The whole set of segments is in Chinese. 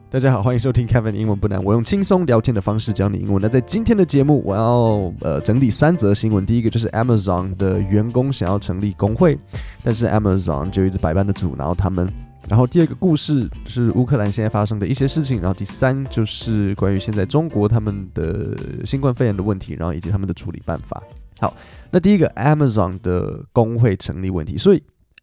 大家好，歡迎收聽 Kevin 英文不難，我用輕鬆聊天的方式教你英文。那在今天的節目，我要整理3則新聞。第一個就是 Amazon 的員工想要成立工會，但是 Amazon 就一直百般的阻撓他們。然後第二個故事是烏克蘭現在發生的一些事情。然後第3就是關於現在中國他們的新冠肺炎的問題，然後以及他們的處理辦法。好，那第一個 Amazon 的工會成立問題，所以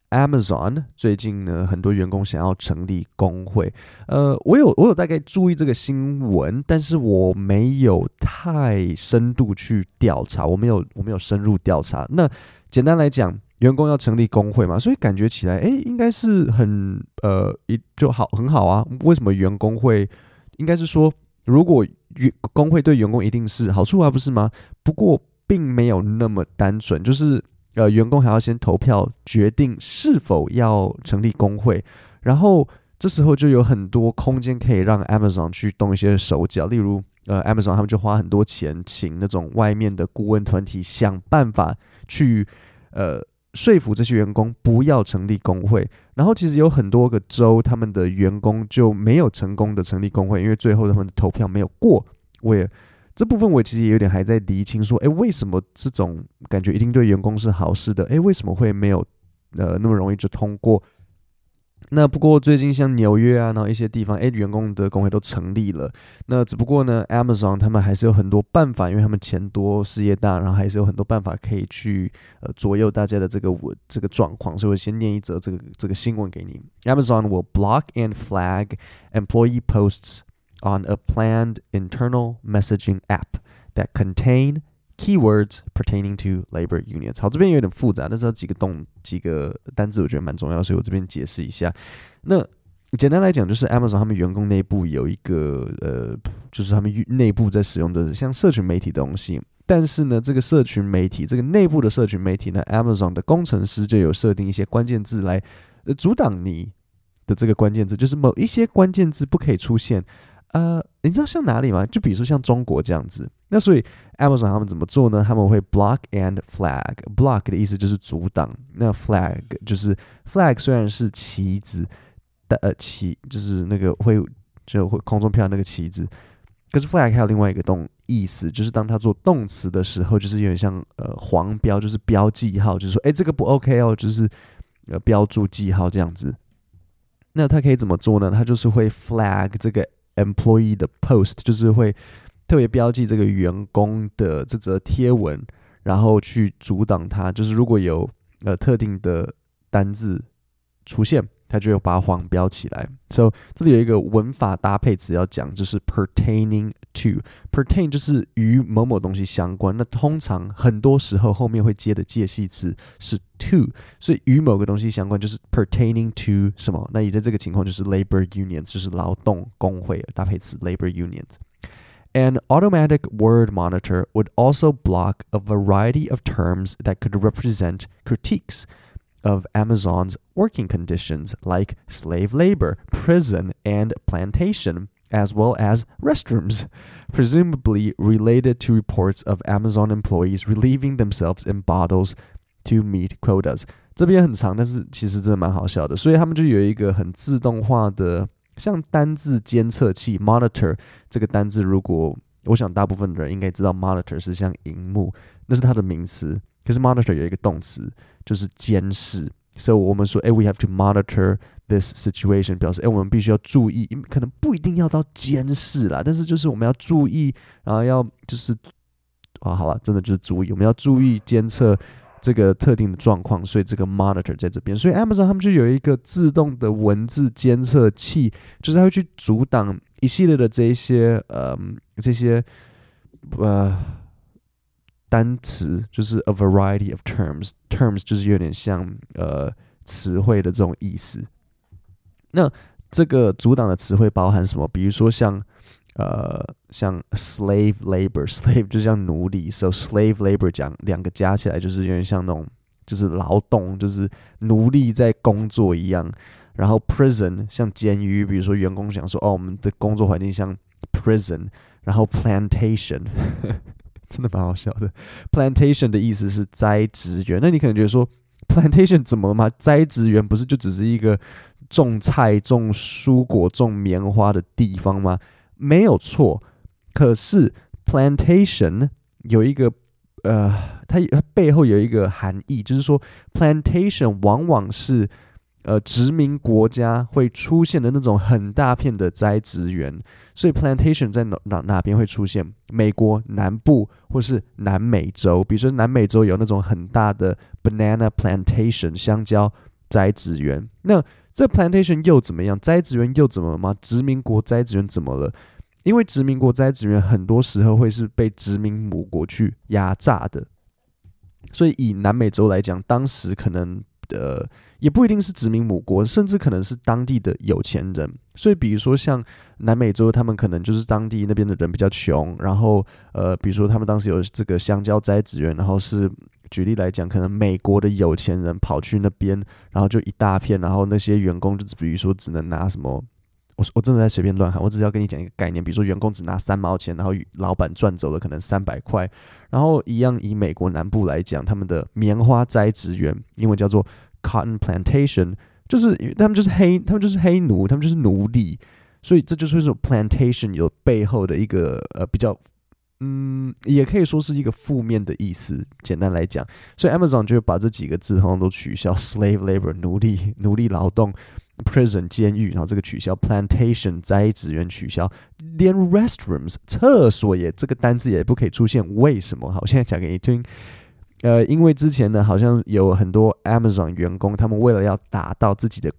Amazon 最近呢，很多員工想要成立工會。我有大概注意這個新聞，但是我沒有太深度去調查，我沒有深入調查。那簡單來講，員工要成立工會嘛，所以感覺起來，應該是很好啊。為什麼員工會？應該是說，如果工會對員工一定是好處啊，不是嗎？不過並沒有那麼單純，就是員工還要先投票決定是否要成立工會，然後這時候就有很多空間可以讓 Amazon 去動一些手腳，例如Amazon 他們就花很多錢請那種外面的顧問團體想辦法去說服這些員工不要成立工會，然後其實有很多個州他們的員工就沒有成功的成立工會，因為最後他們的投票沒有過。這部分我其實也有點還在釐清說，為什麼這種感覺一定對員工是好事的？為什麼會沒有那麼容易就通過？那不過最近像紐約啊，然後一些地方，員工的工會都成立了。那只不過呢 ，Amazon 他們還是有很多辦法，因為他們錢多、事業大，然後還是有很多辦法可以去左右大家的這個狀況。所以我先念一則這個新聞給你。Amazon will block and flag employee posts on a planned internal messaging app that contain keywords pertaining to labor unions。 好，這邊有點複雜，但是幾個單字我覺得蠻重要的，所以我這邊解釋一下。那簡單來講，就是 Amazon 他們員工內部有一個就是他們內部在使用的像社群媒體的東西，但是呢，這個社群媒體，這個內部的社群媒體呢 ，Amazon 的工程師就有設定一些關鍵字來阻擋你的這個關鍵字，就是某一些關鍵字不可以出現。你知道像哪裡嗎？就比如說像中國這樣子。那所以 Amazon 他們怎麼做呢？他們會 block and flag。block 的意思就是阻擋，那 flag 就是 flag 雖然是旗子，旗就是那個會空中飄那個旗子，可是 flag 還有另外一個意思，就是當它做動詞的時候，就是有點像黃標，就是標記號，就是說這個不 OK 哦，就是標注記號這樣子。那它可以怎麼做呢？它就是會 flag 這個employee 的 post， 就是會特別標記這個員工的這則貼文，然後去阻擋它。就是如果有特定的單字出現，它就會把它黃標起來。So 這裡有一個文法搭配詞要講，就是 pertaining to。pertain 就是與某某東西相關，那通常很多時候後面會接的介系詞是 to， 所以與某個東西相關就是 pertaining to 什麼？那也在這個情況就是 labor unions， 就是勞動工會搭配詞 labor unions。An automatic word monitor would also block a variety of terms that could represent critiques of Amazon's working conditions like slave labor, prison, and plantation, as well as restrooms, presumably related to reports of Amazon employees relieving themselves in bottles to meet quotas. 這邊很長，但是其實真的蠻好笑的，所以他們就有一個很自動化的像單字監測器 monitor。 這個單字如果我想大部分的人應該知道 monitor 是像螢幕，那是它的名詞，可是 monitor 有一個動詞就是監視。所以我們說we have to monitor this situation， 表示我們必須要注意，可能不一定要到監視啦，但是就是我們要注意，然後要就是好了，真的就是注意，我們要注意監測這個特定的狀況，所以這個 monitor 在這邊。所以 Amazon 他們就有一個自動的文字監測器，就是它會去阻擋一系列的這些單詞，就是 a variety of terms 就是有點像詞彙的這種意思。那這個阻擋的詞彙包含什麼？比如說像 slave labor，slave 就像奴隸， so slave labor 講兩個加起來就是有點像那種就是勞動，就是奴隸在工作一樣。然後 prison 像監獄，比如說員工想說我們的工作環境像 prison。然後 plantation 真的蠻好笑的， plantation 的意思是栽植園。那你可能覺得說 plantation 怎麼了嗎？栽植園不是就只是一個種菜、種蔬果、種棉花的地方嗎？沒有錯。可是 plantation 有一個它背後有一個含義，就是說 plantation 往往是殖民國家會出現的那種很大片的栽植園，所以 plantation 在哪邊會出現？美國南部或是南美洲，比如說南美洲有那種很大的 banana plantation 香蕉栽植園。那這 plantation 又怎麼樣？栽植園又怎麼了嗎？殖民國栽植園怎麼了？因為殖民國栽植園很多時候會是被殖民母國去壓榨的，所以以南美洲來講，當時可能也不一定是殖民母國，甚至可能是當地的有錢人。所以比如說像南美洲，他們可能就是当地那邊的人比較窮，然後比如說他們當时有這個香蕉栽植園，然後是舉例來講，可能美國的有錢人跑去那邊，然後就一大片，然後那些員工就比如說只能拿什麼，我真的在隨便亂喊，我只是要跟你講一個概念，比如說員工只拿3毛錢，然後老闆賺走了可能300塊，然後一樣以美國南部來講，他們的棉花栽植園，英文叫做 cotton plantation， 就是他們就是黑奴，他們就是奴隸，所以這就是这種 plantation 有背後的一個比較也可以說是一個負面的意思，簡單來講，所以 Amazon 就會把這幾個字通通都取消 ，slave labor 奴隸勞動。Prison 監獄，然後這個取消 ，plantation 栽植園取消，連 restrooms 廁所也這個單字也不可以出現，為什麼？好，我現在講給你聽。因為之前呢，好像有很多 Amazon 員工，他們為了要達到自己的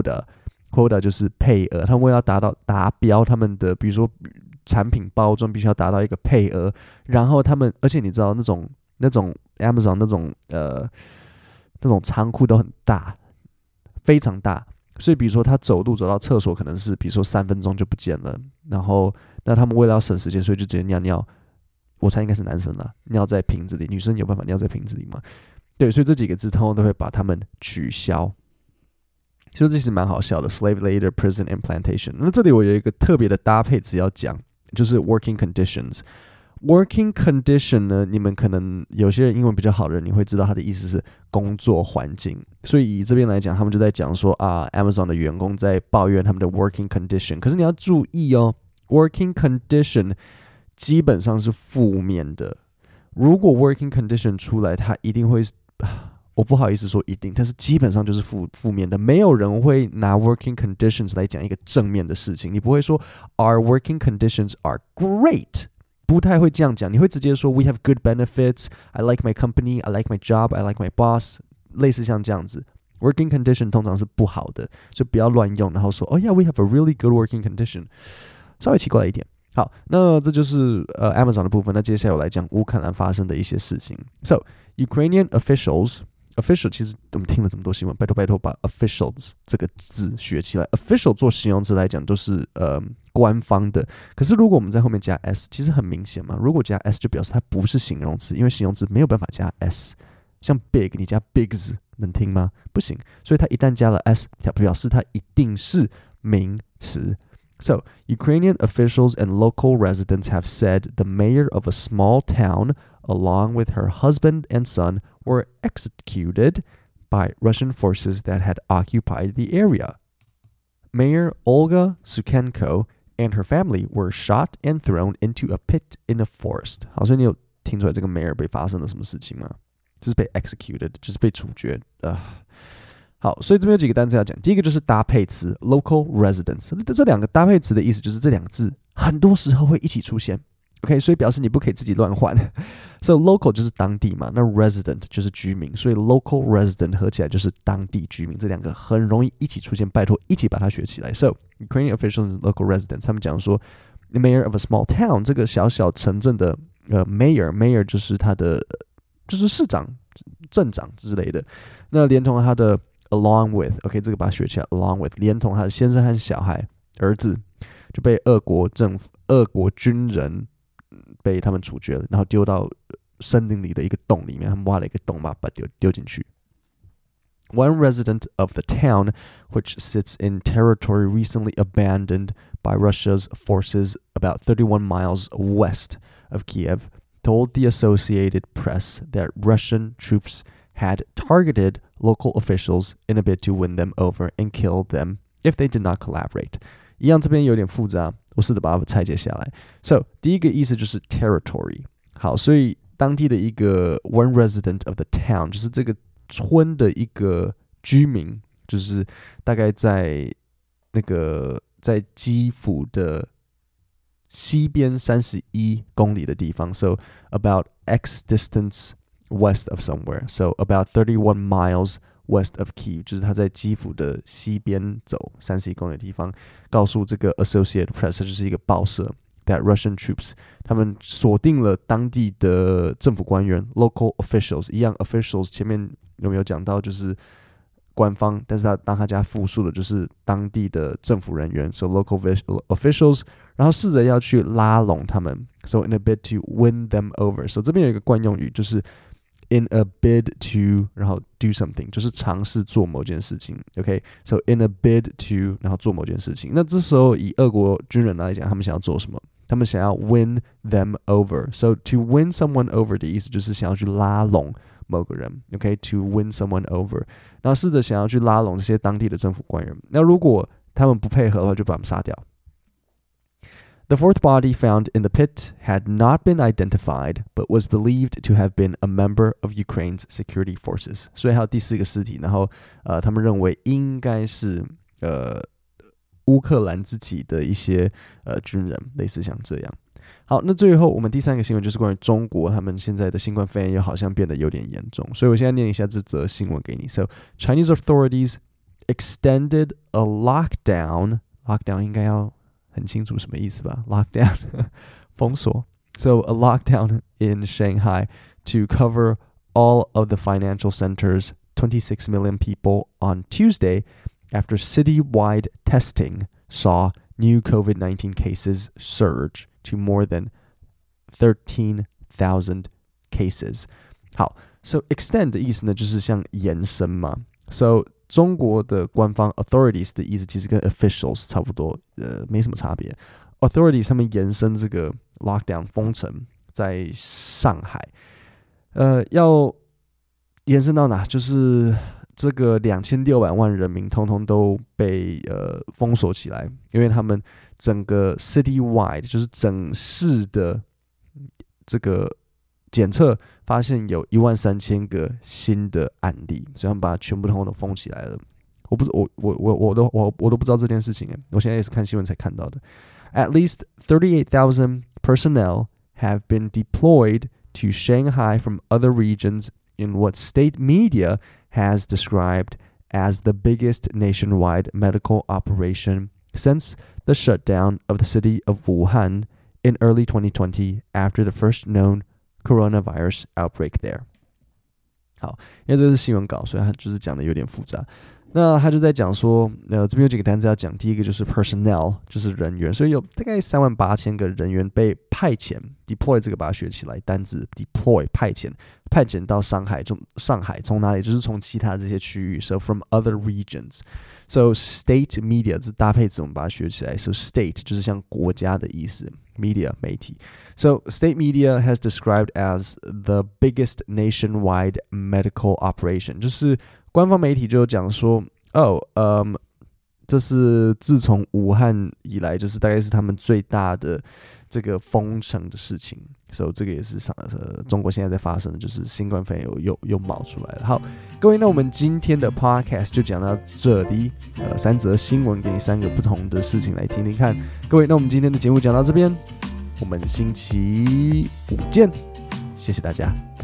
quota 就是配額，他們為了要達標，他們的比如說產品包裝必須要達到一個配額，然後他們，而且你知道那種 Amazon 那種倉庫都很大，非常大。所以比如說他走路走到廁所可能是比如說3分鐘就不見了，然後那他們為了要省時間，所以就直接尿尿，我猜應該是男生啦，尿在瓶子裡，女生有辦法尿在瓶子裡嗎？對，所以這幾個字通常都會把它們取消，所以這其實蠻好笑的 ，slave labor, prison and plantation。那這裡我有一個特別的搭配詞要講，就是 working conditions。Working condition 呢，你們可能有些人英文比較好的人，你會知道它的意思是工作環境。所以以這邊來講，他們就在講說啊 ，Amazon 的員工在抱怨他們的 working condition。可是你要注意哦 ，working condition 基本上是負面的。如果 working condition 出來，它一定會，我不好意思說一定，但是基本上就是負面的。沒有人會拿 working conditions 來講一個正面的事情。你不會說 Our working conditions are great。不太會這樣講，你會直接說 We have good benefits, I like my company, I like my job, I like my boss， 類似像這樣子。Working condition 通常是不好的，所以不要亂用，然後說 Oh yeah, we have a really good working condition， 稍微奇怪一點。好，那這就是Amazon 的部分。那接下來我來講烏克蘭發生的一些事情。So Ukrainian official 其實我們聽了這麼多新聞，拜託把 officials 這個字學起來。official 做形容詞來講都是官方的，可是如果我們在後面加 s， 其實很明顯嘛。如果加 s 就表示它不是形容詞，因為形容詞沒有辦法加 s。像 big 你加 bigs 能聽嗎？不行，所以它一旦加了 s， 它表示它一定是名詞。So, Ukrainian officials and local residents have said the mayor of a small town, along with her husband and son, were executed by Russian forces that had occupied the area. Mayor Olga Sukhenko and her family were shot and thrown into a pit in a forest. 好，所以你有听出来这個 mayor 被发生了什麼事情嗎？就是被 executed， 就是被處決。好，所以這邊有幾個單詞要講。第一個就是搭配詞 local residents， 這兩個搭配詞的意思就是這兩個字很多時候會一起出現。OK， 所以表示你不可以自己亂換。So local 就是當地嘛，那 resident 就是居民，所以 local resident 合起來就是當地居民，這兩個很容易一起出現，拜託一起把它學起來。So Ukrainian officials and local residents 他們講說 the mayor of a small town 這個小小城鎮的mayor 就是他的就是市長、鎮長之類的，那連同他的along with， OK， 這個把它學起來 ，along with， 連同他的先生和小孩、兒子就被俄國軍人被他們處決了，然後丟到森林裡的一個洞裡面，他們挖了一個洞，把它丟進去。One resident of the town, which sits in territory recently abandoned by Russia's forces about 31 miles west of Kiev, told the Associated Press that Russian troops had targeted local officials in a bid to win them over and kill them if they did not collaborate。一樣，這邊有點複雜，我試着把它拆解下來。So， 第一個意思就是 territory。好，所以當地的一個 one resident of the town， 就是這個村的一個居民，就是大概在基輔的西邊31公里的地方。So about X distance west of somewhere. So about 31 miles west of Kyiv， 就是他在基輔的西邊走31公里的地方，告訴這個 Associated Press， 就是一個報社 ，that Russian troops 他們鎖定了當地的政府官員 local officials， 一樣 officials 前面有沒有講到就是官方，但是當他加複數的就是當地的政府人員 ，so local officials， 然後試着要去拉攏他們 ，so in a bid to win them over，so 這邊有一個慣用語就是。In a bid to， 然後 do something， 就是嘗試做某件事情。OK，so in a bid to， 然後做某件事情。那這時候以俄國軍人來講，他們想要做什麼？他們想要 win them over。So to win someone over 的意思就是想要去拉攏某個人。OK，to win someone over， 然後試着想要去拉攏這些當地的政府官員。那如果他們不配合的話，就把他們殺掉。The fourth body found in the pit had not been identified, but was believed to have been a member of Ukraine's security forces. 所以還有第四個屍體，然後他們認為應該是烏克蘭自己的一些軍人，類似像這樣。好，那最後我們第三個新聞就是關於中國，他們現在的新冠肺炎又好像變得有點嚴重，所以我現在念一下這則新聞給你。So Chinese authorities extended a lockdown 應該要很清楚什麼意思吧 ？Lockdown 封鎖。So a lockdown in Shanghai to cover all of the financial centers, 26 million people on Tuesday, after citywide testing saw new COVID-19 cases surge to more than 13,000 cases. 好 ，So extend 的意思呢，就是像延伸嘛。So中國的官方 authorities 的意思其實跟 officials 差不多，沒什麼差別。authorities 他們延伸這個 lockdown 封城在上海，要延伸到哪？就是這個2600萬人民通通都被封鎖起來，因為他們整個 citywide 就是整市的這個檢測發現有13000個新的案例，所以他們把它全部通通都封起來了。我都不知道這件事情，我現在也是看新聞才看到的。At least 38,000 personnel have been deployed to Shanghai from other regions in what state media has described as the biggest nationwide medical operation since the shutdown of the city of Wuhan in early 2020 after the first known coronavirus outbreak there. 好，因為這是新聞稿，所以它就是講的有點複雜。那他就在講說，這邊有幾個單詞要講。第一個就是 personnel， 就是人員，所以有大概38000個人員被派遣 ，deploy 這個把它學起來，單字 deploy 派遣到上海從哪裡？就是從其他這些區域 ，so from other regions。So state media 這搭配詞我們把它學起來 ，so state 就是像國家的意思 ，media 媒體。So state media has described as the biggest nationwide medical operation， 就是官方媒体就講說，這是自從武漢以來，就是大概是他們最大的這個封城的事情。所以這個也是中國現在在發生的，就是新冠肺炎又冒出來了。好，各位，那我們今天的 podcast 就講到這裡。3則新聞給你3個不同的事情來聽聽看。各位，那我們今天的節目講到這邊，我們星期五見，謝謝大家。